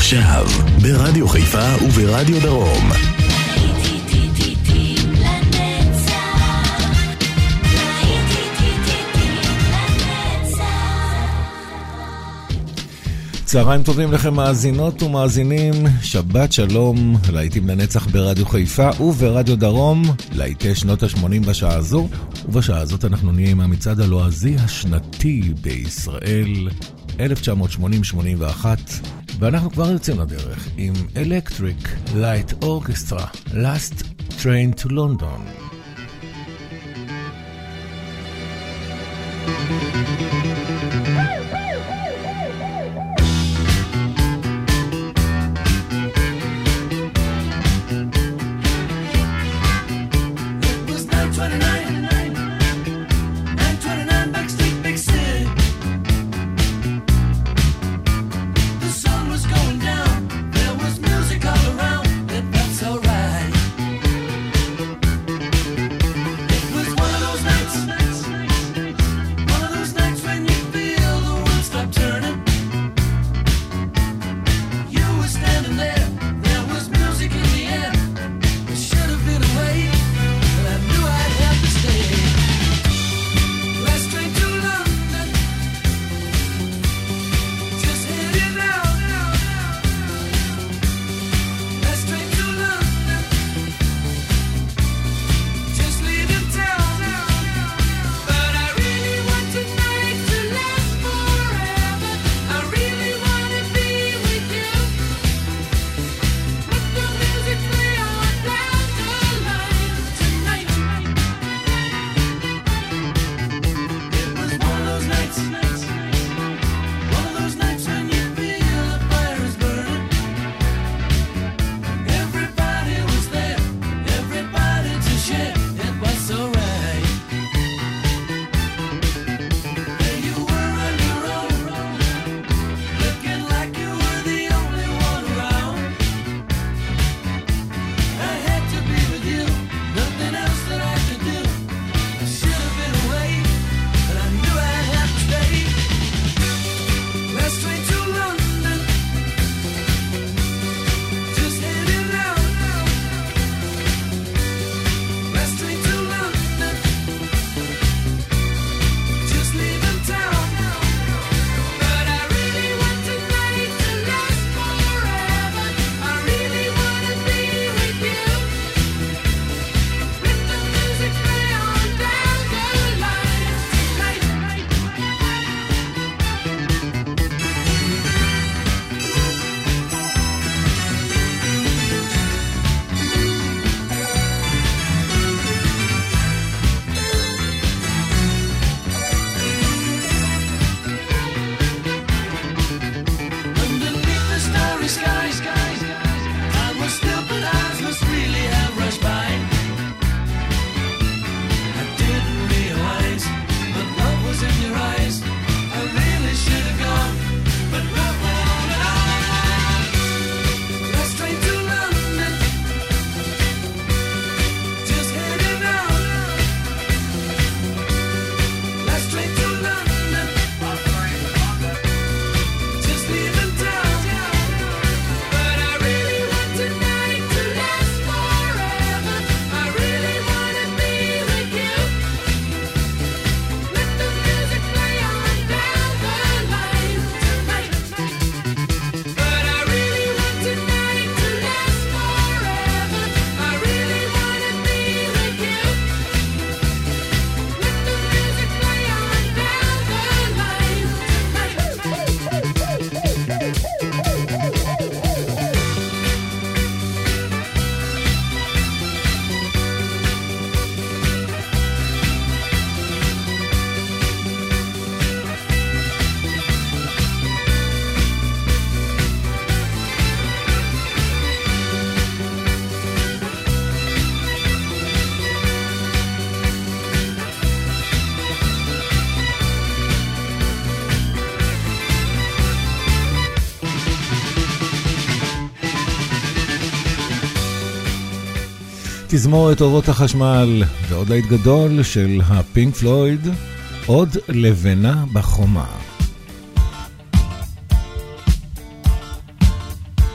עכשיו, ברדיו חיפה וברדיו דרום. צהריים טובים לכם מאזינות ומאזינים, שבת שלום, להיטים לנצח ברדיו חיפה וברדיו דרום, להיטי שנות ה-80 בשעה הזו, ובשעה הזאת אנחנו נהיה עם המצעד הלועזי השנתי בישראל, 1980-81, ואנחנו כבר יוצאים לדרך עם Electric Light Orchestra, Last Train to London. תזמורת אורות החשמל ועוד להיט גדול של הפינק פלויד, עוד לבנה בחומה.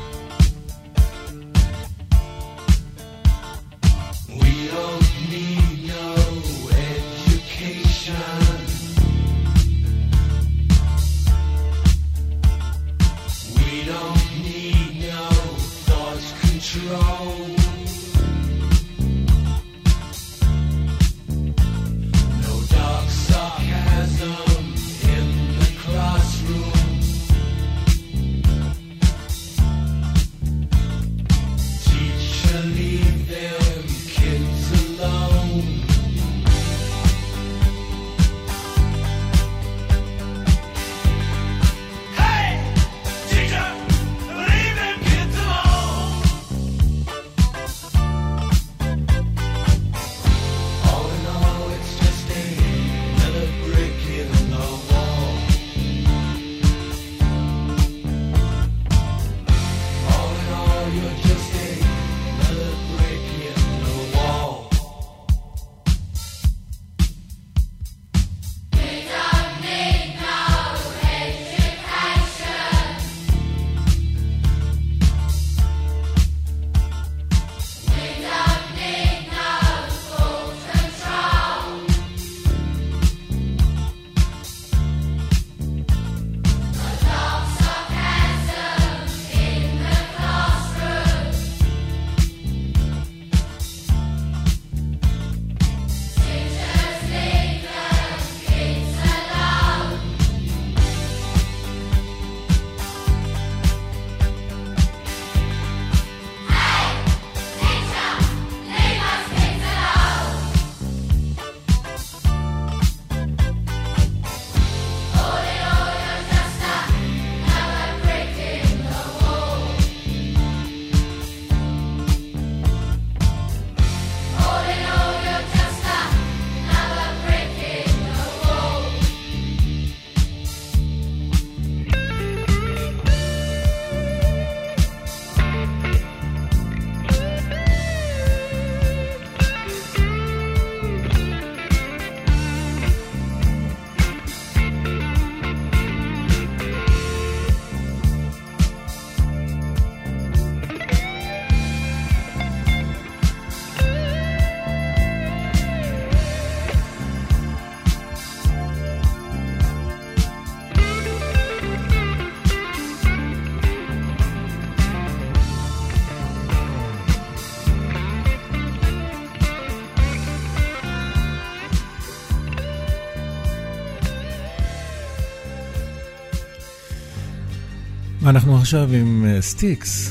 אנחנו עכשיו עם סטיקס,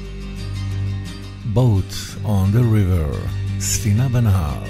Boat on the River, ספינה בנהר.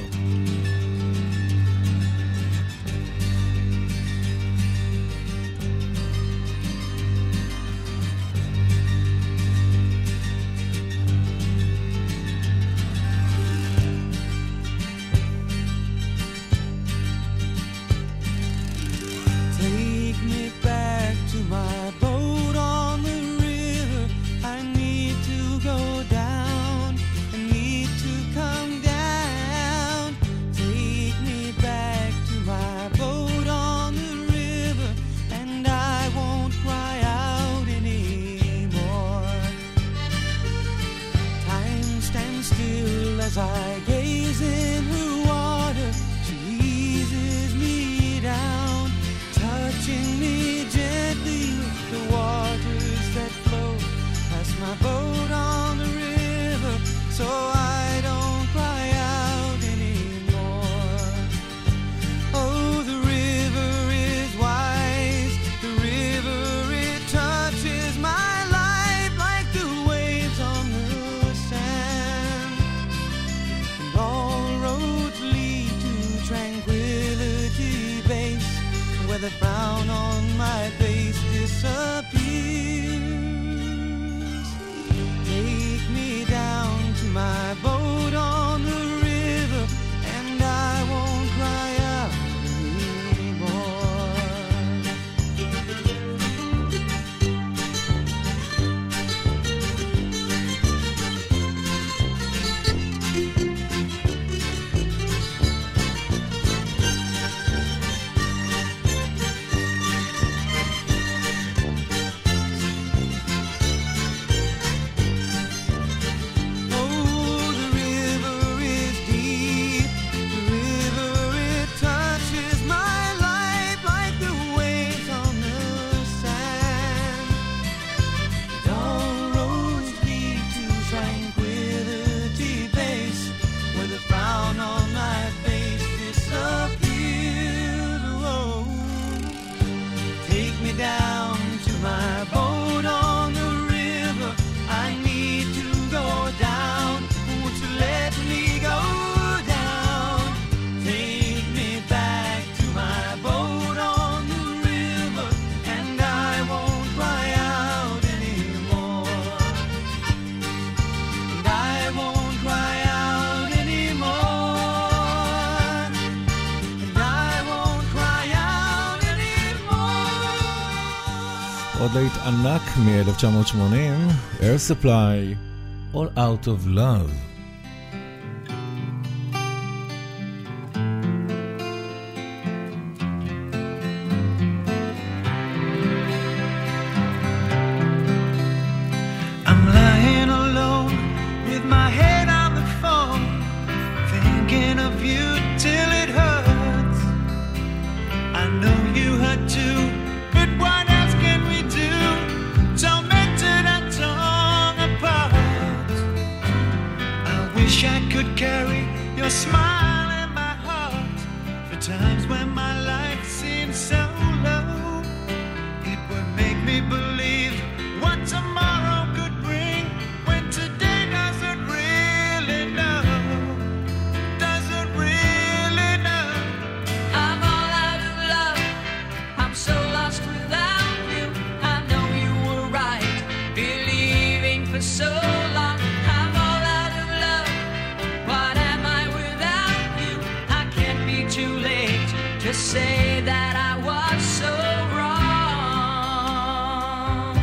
עוד להיט ענק מ-1980, Air Supply, All Out of Love. I'm lying alone with my head on the phone, thinking of you till it hurts. I know you hurt too, but what else can we do? Tormented and torn apart. I wish I could carry your smile in my heart for times when my life seems so low. It would make me believe what tomorrow could bring, when today doesn't really know. Doesn't really know. I'm all out of love. I'm so lost without you. I know you were right, believing for so long. I'm all out of love. What am I without you? I can't be too late to say that I was so wrong.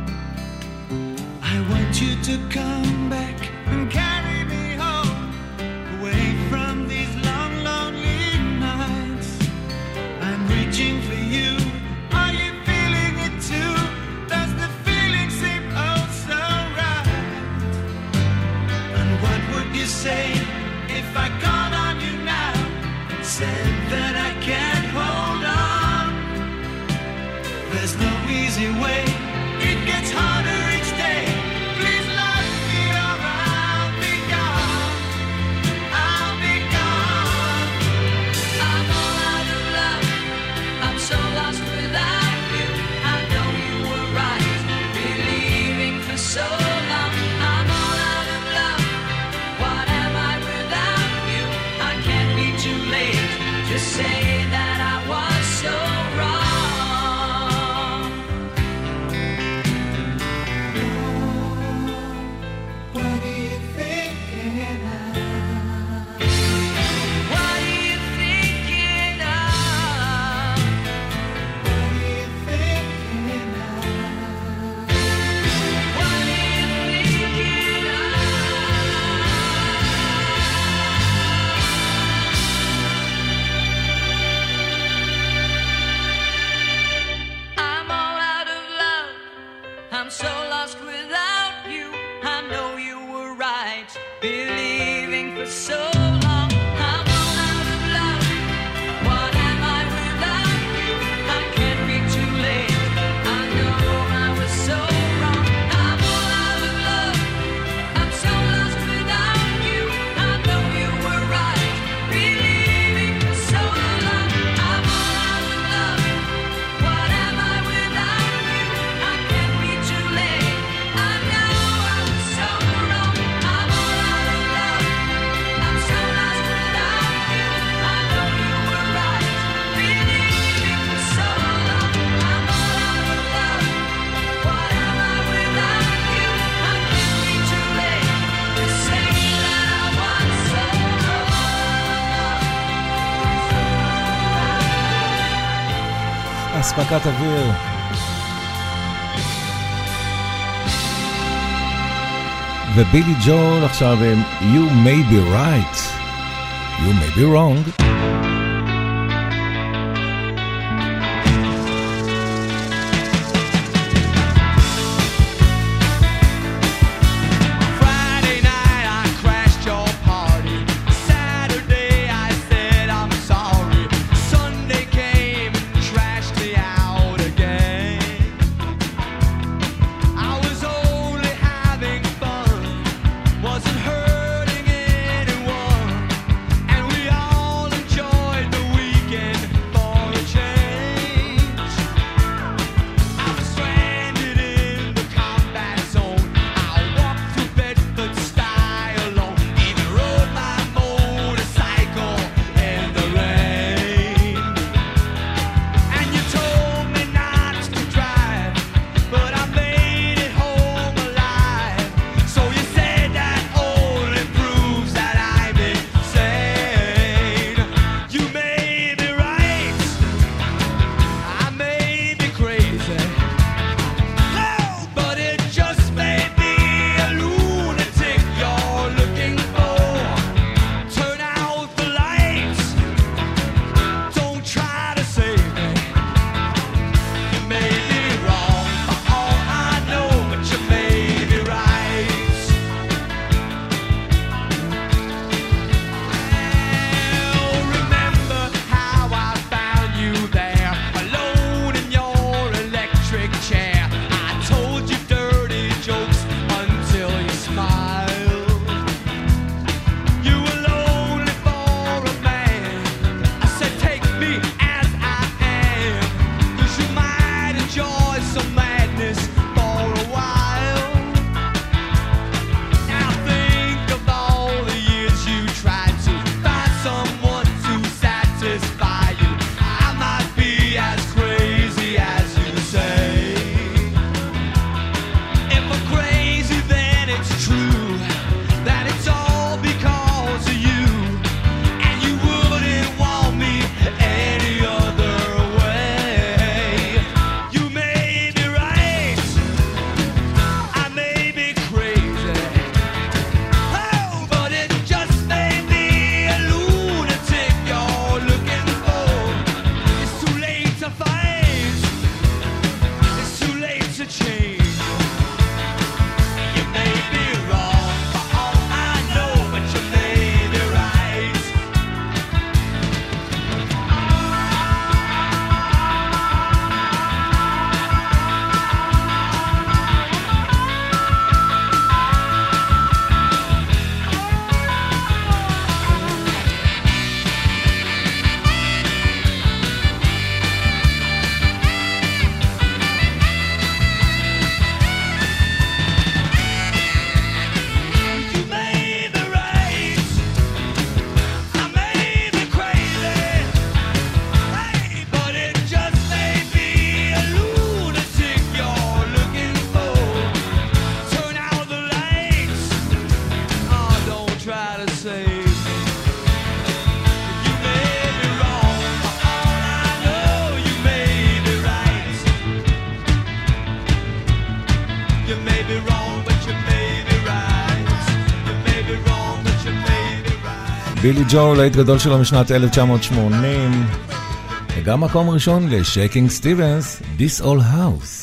I want you to come back and carry me home, away from these long, lonely nights. I'm reaching for you. Are you feeling it too? Does the feeling seem oh so right? And what would you say if I called on you now and said that I can't hold on? There's no easy way. It gets harder each day. Please love me or I'll be gone. I'll be gone. I'm all out of love. I'm so lost without you. I know you were right, believing for so long. I'm all out of love. What am I without you? I can't be too late to say that I was so wrong. What are you thinking of? What are you thinking of? What are you thinking of? What are you thinking of? I'm all out of love. I'm so lost without you. I know you were right, believing for so long. I'm all out of love. What am I without you? I can't be too late. I know I was so wrong. I'm all out of love. I'm so lost without you. I know you were right, believing for so long. I'm all out of love. What am I without you? I can't be too late. I know I was so wrong. I'm all out of love. I'm so lost without you. I know you were right, believing for so long. I'm all out of love. What am I without you? I can't be too late to say that I was so wrong. אספקת אוויר. ובילי ג'ול עכשיו עם You May Be Right, You May Be Wrong. Friday night I crashed your party. Saturday I said I'm sorry. Sunday came and trashed me out again. I was only having fun, wasn't hurting anyone, and we all enjoyed בילי ג'ו, להיט גדול שלו משנת 1980, וגם מקום ראשון לשקינג סטיבנס, This Old House.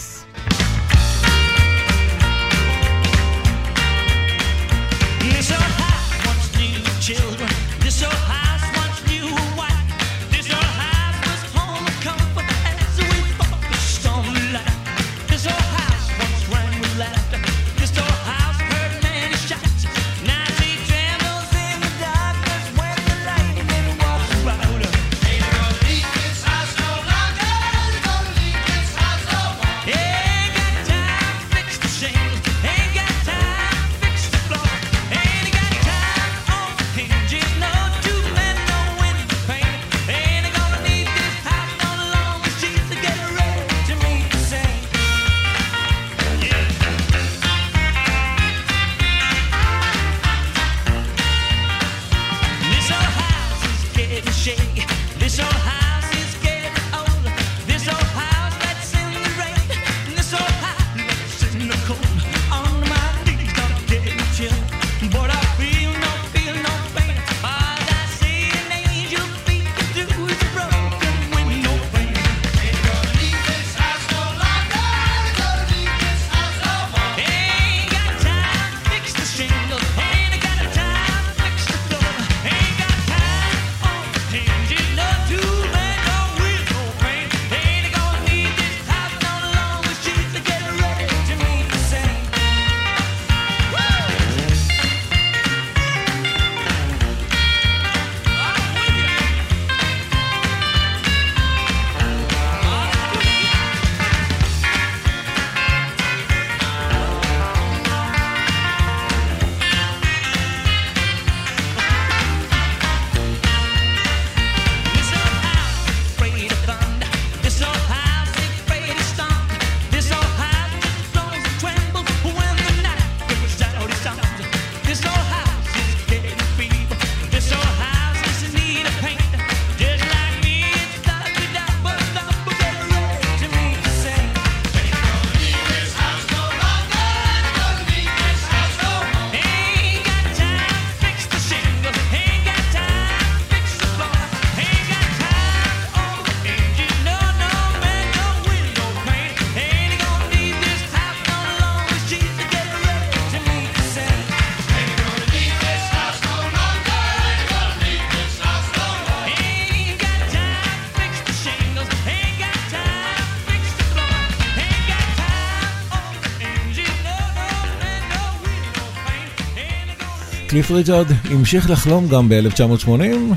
קליף ריצ'רד המשיך לחלום גם ב-1980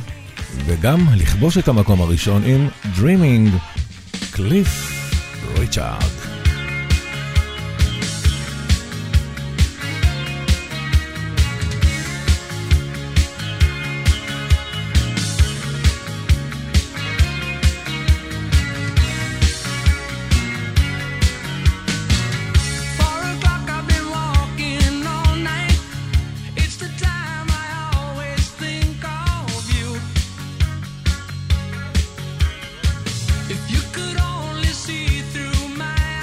וגם לכבוש את המקום הראשון עם Dreaming. קליף ריצ'רד. If you could only see through my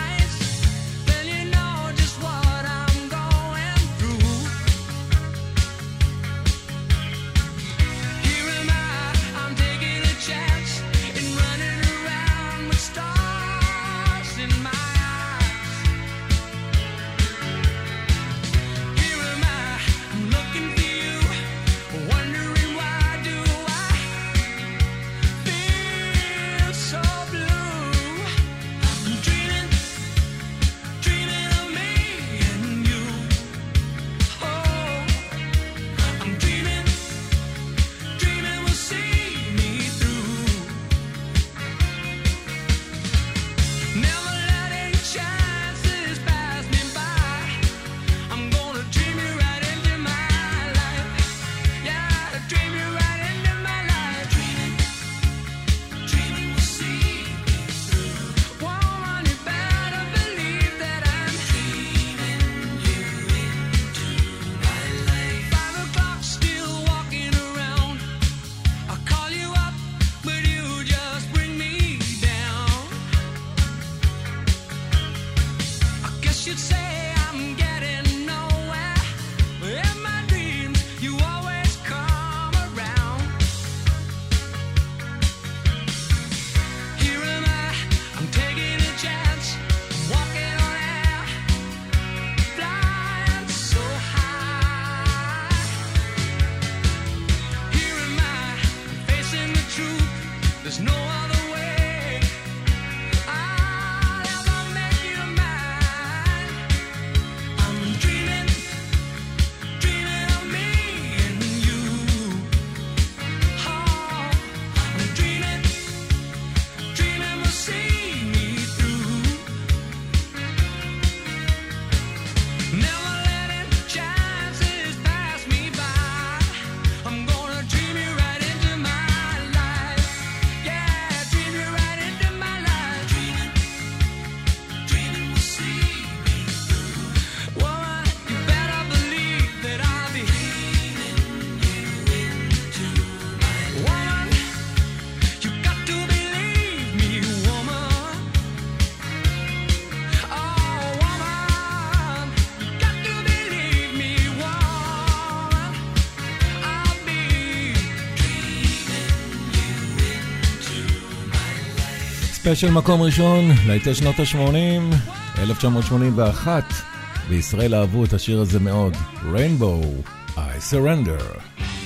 ספיישל מקום ראשון, להיטי שנות ה-80, 1981. בישראל אהבו את השיר הזה מאוד. Rainbow, I Surrender.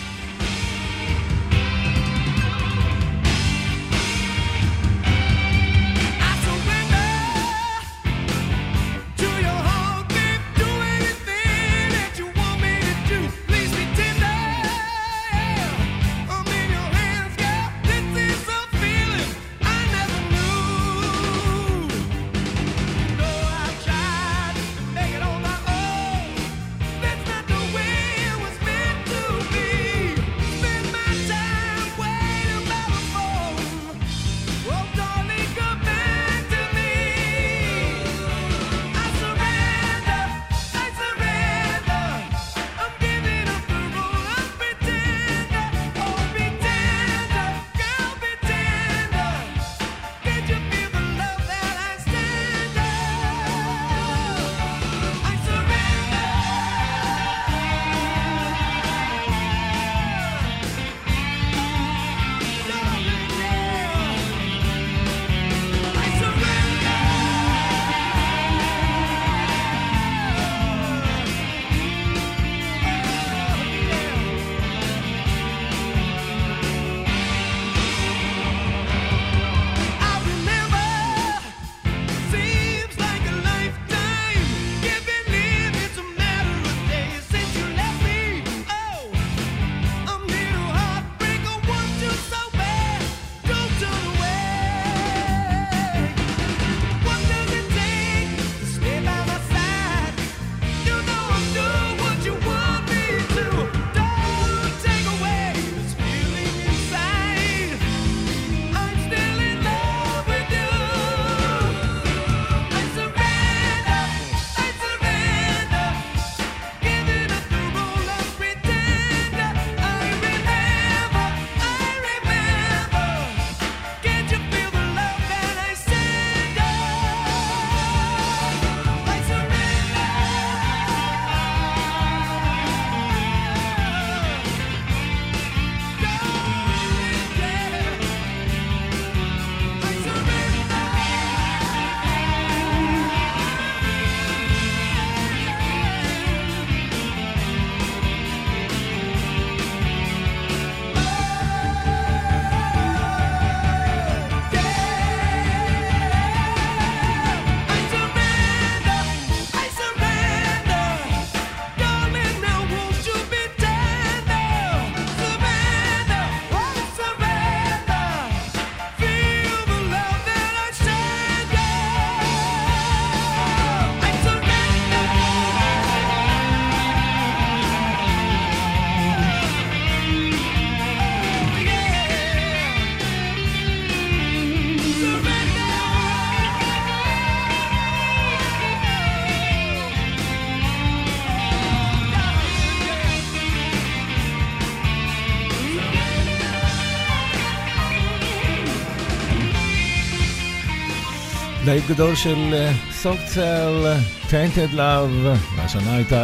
להיט גדול של Soft Cell, Tainted Love, והשנה הייתה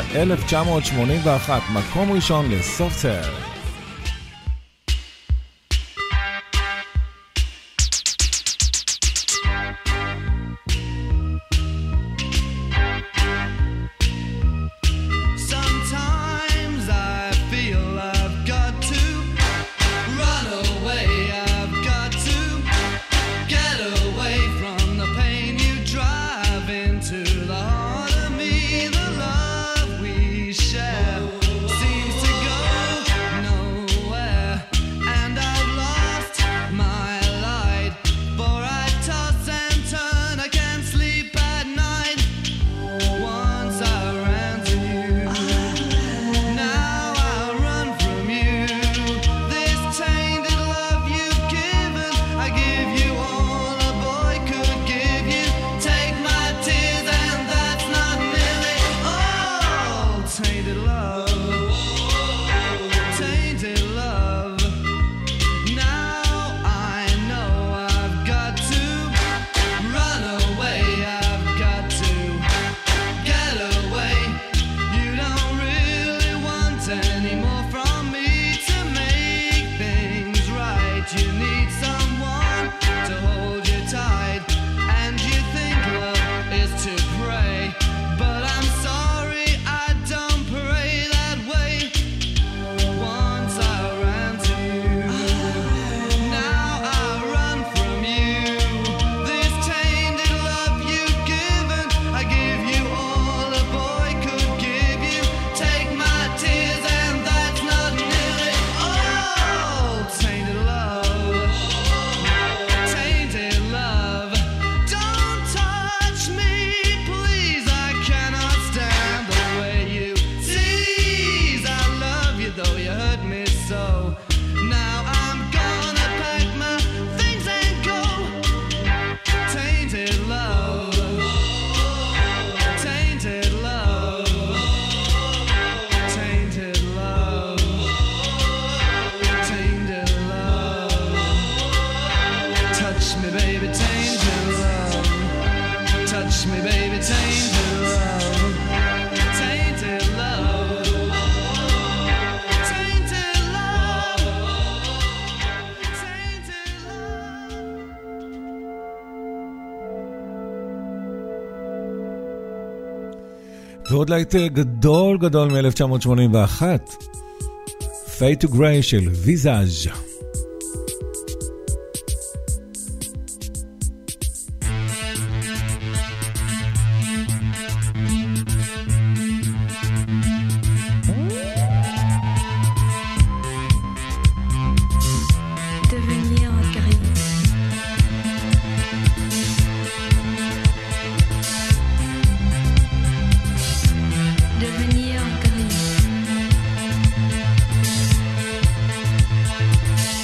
1981, מקום ראשון ל-Soft Cell. Seems to go You need someone to hold you tight. me so. Now I'm gonna pack my things and go. Tainted love, tainted love, tainted love, tainted love. Touch me, baby, tainted love. Touch me, baby, tainted love. Tainted love. Tainted love. Tainted love. ועוד להיט גדול גדול מ-1981, Fade to Grey של ויזאז'. Devenir gris. Devenir gris.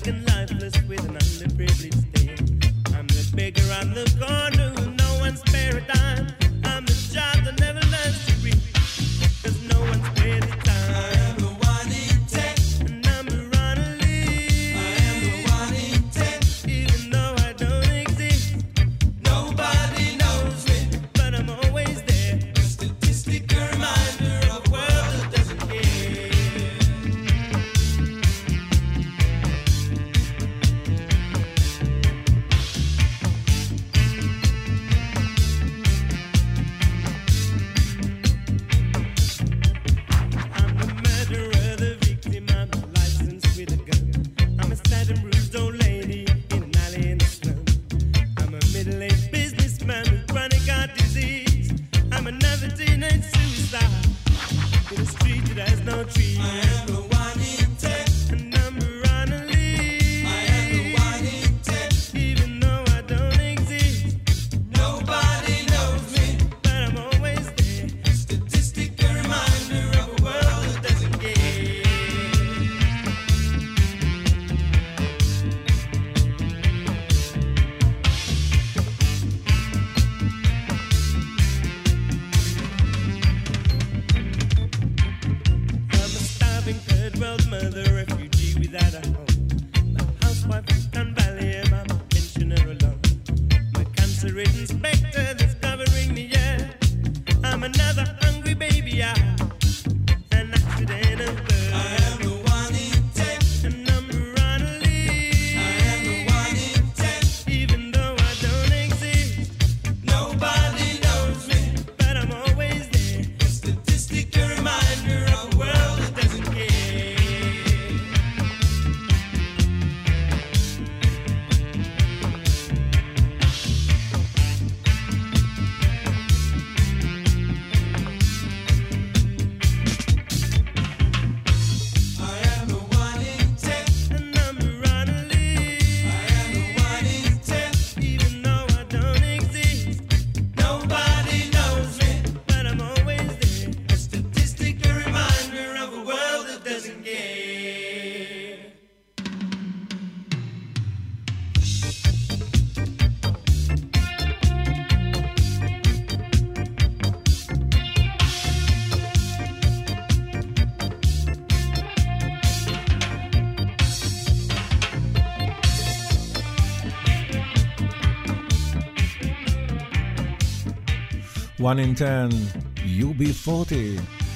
pathetic and lifeless with an underprivileged state. I'm the beggar on the corner who no one spare a dime. I'm the child that never learns to read, 'cause no one spares the time. I am the one in 10, a number on a list. I am the one in 10, even though I don't exist. Nobody knows me, but I'm always there. A statistic, a reminder of a world that doesn't care. I'm the murderer, the victim, I'm the license with a gun. I'm a sad and bruised old lady in an alley in the slum. I'm a middle-aged businessman with chronic heart disease. I'm another teenage suicide in a street that has no trees. I am the one in 10, a number on a list. I am the one in 10, even though I don't exist. Nobody knows me, but I'm always there. A statistic, a reminder of a world that doesn't care. I'm a starving third world mother, refugee without a home. My housewife is Don Valley and I'm a pensioner alone. My cancer-ridden specter that's covering me, yeah. I'm another hungry baby, an accident of birth. I am the one in 10, a number on a list. I am the one in 10, even though I don't exist. Nobody knows me, but I'm always there. A statistic, a reminder of a world that doesn't care. I am the one in 10, a number on a list. I am the one in 10, even though I don't exist. Nobody knows me, but I'm always there. A statistic, a reminder of a world that doesn't care. One in 10, UB40.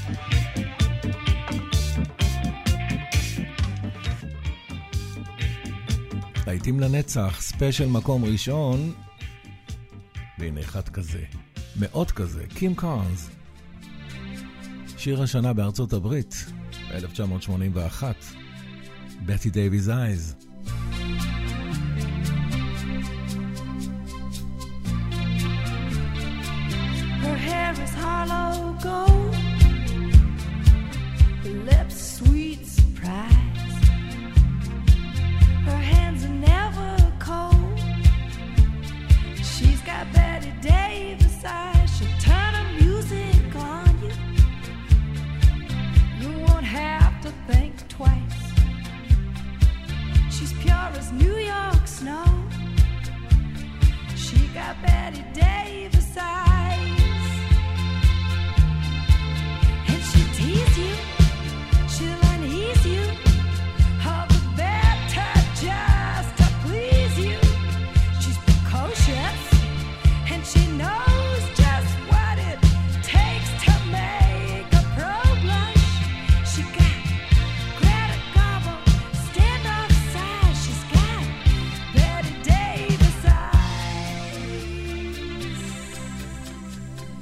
להיטים לנצח, ספיישל מקום ראשון, והנה אחד כזה, מאוד כזה, קים קארנס. שיר השנה בארצות הברית, ב-1981, בטי דייוויס אייז. Her hair is hollow gold, her lips sweet surprise. Her hands are never cold. She's got Betty Davis eyes. She'll turn her music on you. You won't have to think twice. She's pure as New York snow. She got Betty Davis eyes. And she'll tease you, she'll unease you, all the better just to please you. She's precocious, and she knows just what it takes to make a pro blush. She got Greta Garbo, standoff size. She's got Betty Davis eyes.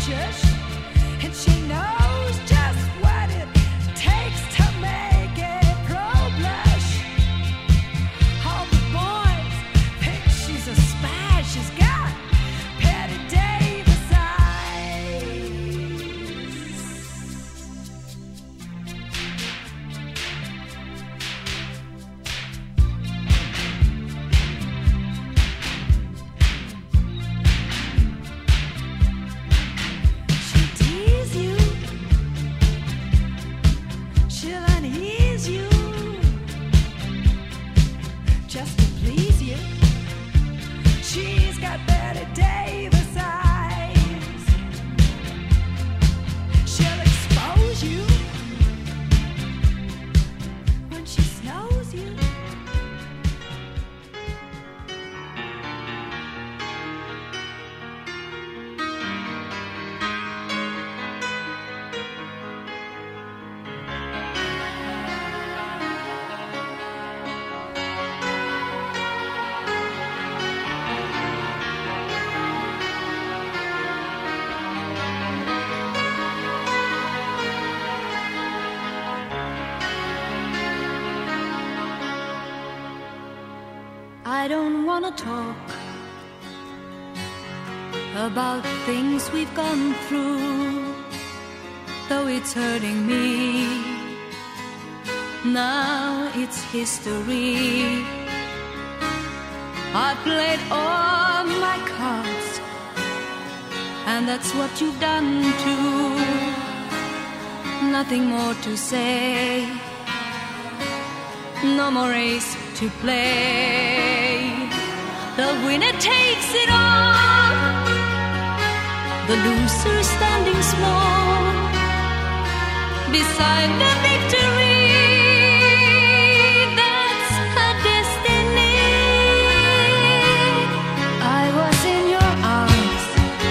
righteous, and she knows just what it takes to make a pro blush. All the boys think she's a spy. She's got Patty Davis eyes. She'll tease you, she'll unease you, just to please you. She's got Betty Davis eyes. She'll expose you when she snows you. I don't wanna talk about things we've gone through, though it's hurting me. Now it's history. I played all my cards, and that's what you've done too. Nothing more to say, no more race to play. The winner takes it all, the loser standing small beside the victory. That's her destiny. I was in your arms,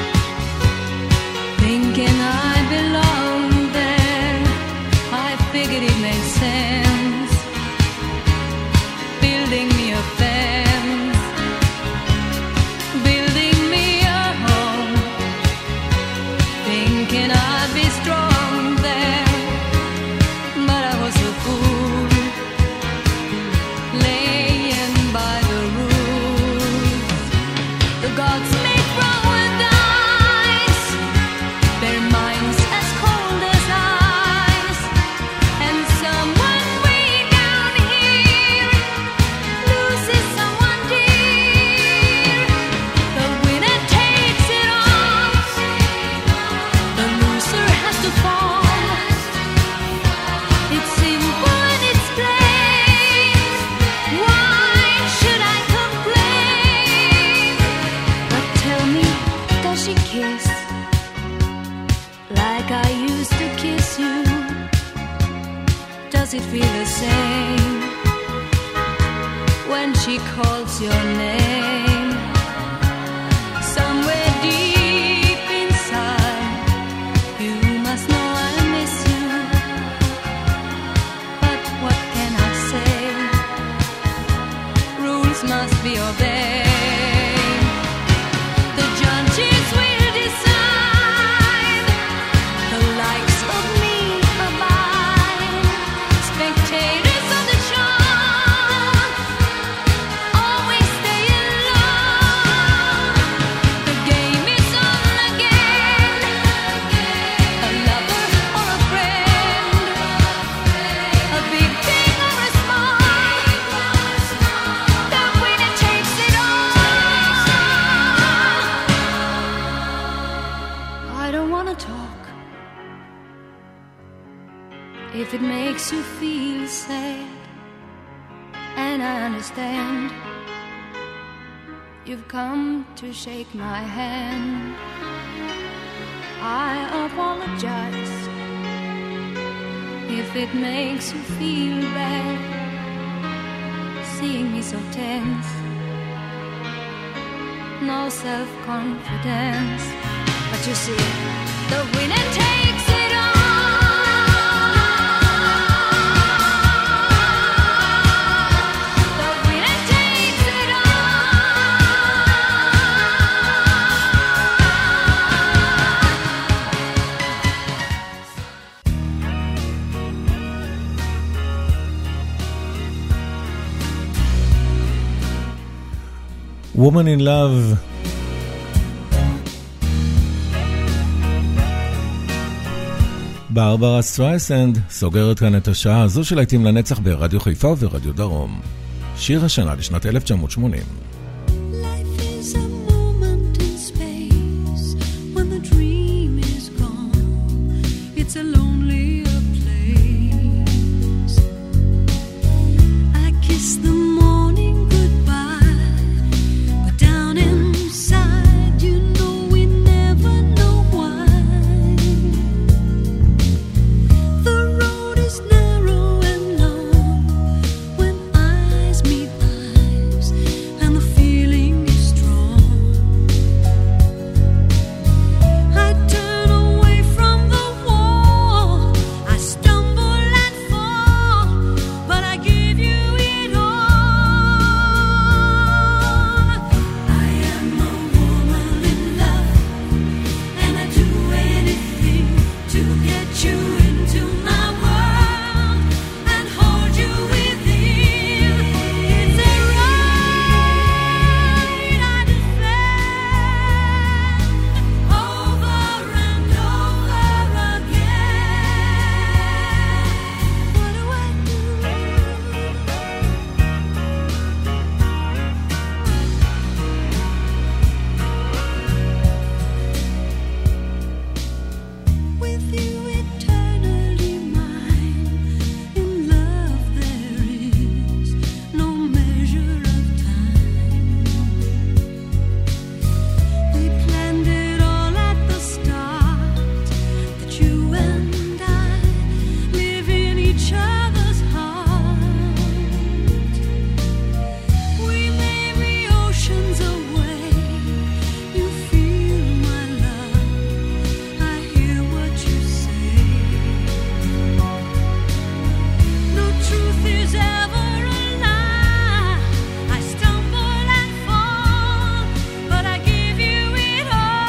thinking I belonged there. I figured it made sense, building me a fence, building me a home, thinking I'd be strong there. But I was a fool, laying by the rules. The gods make wrong with dice, their minds as cold as ice, and someone way down here loses someone dear. The winner takes it all, the loser has to fall. It's simple and it's plain. Why should I complain? But tell me, does she kiss like I used to kiss you? Does it feel the same when she calls your name? Somewhere deep inside, you must know I miss you. But what can I say? Rules must be obeyed. The judges will decide, the likes of me abide. Spectators of the show always stay alone. The game is on again, a lover or a friend, a big thing or a small, the winner takes it all. I don't wanna talk if it makes you feel sad, and I understand. You've come to shake my hand. I apologize if it makes you feel bad, seeing me so tense, no self-confidence. But you see, the winner takes it all. The winner takes it all. Woman in Love. ברברה סטרייסנד סוגרת כאן את השעה הזו של להיטים לנצח ברדיו חיפה וברדיו דרום. שיר השנה לשנת 1980. Life is a moment in space when the dream is gone. It's a lonelier place. I kiss the morning goodbye, but down inside you know we never know why. The road is narrow and long when eyes meet eyes, and the feeling is strong. I turn away from the wall, I stumble and fall, but I give you it all. I am a woman in love, and I do anything to get you into my world and hold you within. It's a right I defend over and over again. What do I do? With you eternally mine, in love there is no measure of time. We planned it all at the start, that you and I live in each other's heart. We may be oceans away, you feel my love, I hear what you say. No truth is ever a lie. I stumble and fall, but I give you it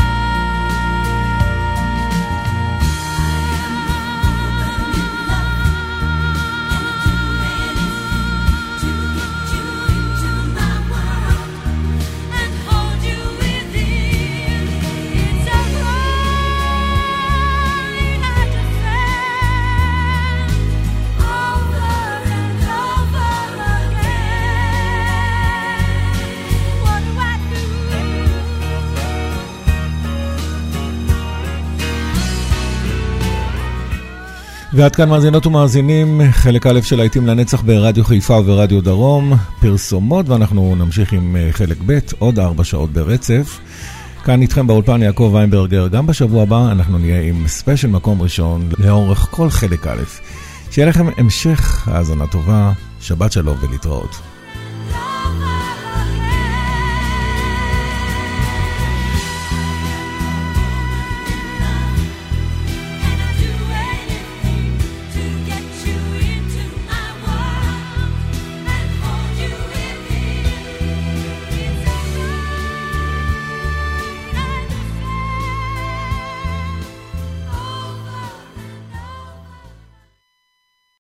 and hold you within. It's a right I defend over and over again. What do I do? ועד כאן מאזינות ומאזינים, חלק א' של להיטים לנצח ברדיו חיפה וברדיו דרום, פרסומות, ואנחנו נמשיך עם חלק ב' עוד 4 שעות ברצף. כאן איתכם באולפן יעקב ויינברגר, גם בשבוע הבא אנחנו נהיה עם ספיישל מקום ראשון לאורך כל חלק א'. שיהיה לכם המשך האזנה טובה, שבת שלום ולהתראות.